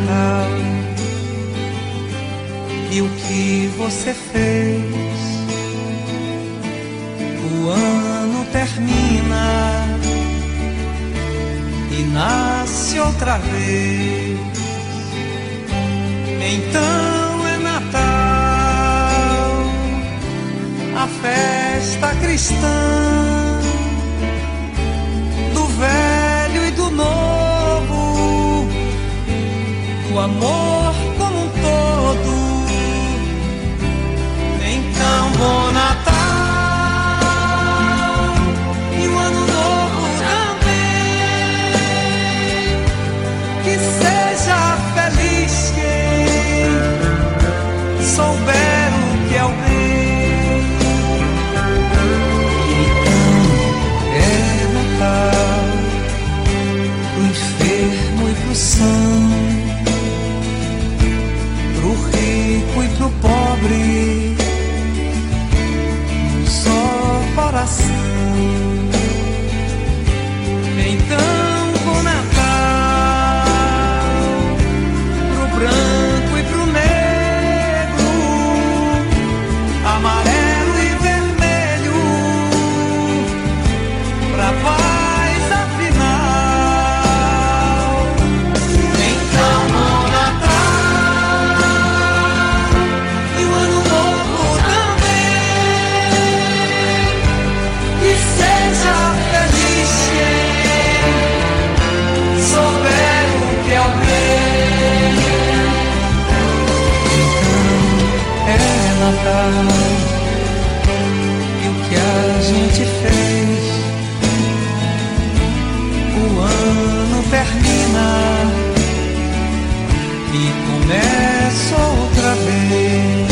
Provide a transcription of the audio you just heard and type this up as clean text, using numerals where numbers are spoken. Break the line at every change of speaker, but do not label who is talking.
Natal. E o que você fez? O ano termina e nasce outra vez. Então é Natal, a festa cristã, do velho e do novo, o amor como um todo. Então bom Natal e um ano novo também, que seja feliz quem souber o que é o bem. Então é Natal pro enfermo e pro são, pro rico e pro pobre, um só coração. Então bom Natal pro branco e pro negro, amarelo e vermelho, pra paz afinal. Então bom Natal e um ano novo também, que seja feliz quem souber o que é o bem. Então é Natal e o que a gente fez. O ano termina e começa outra vez.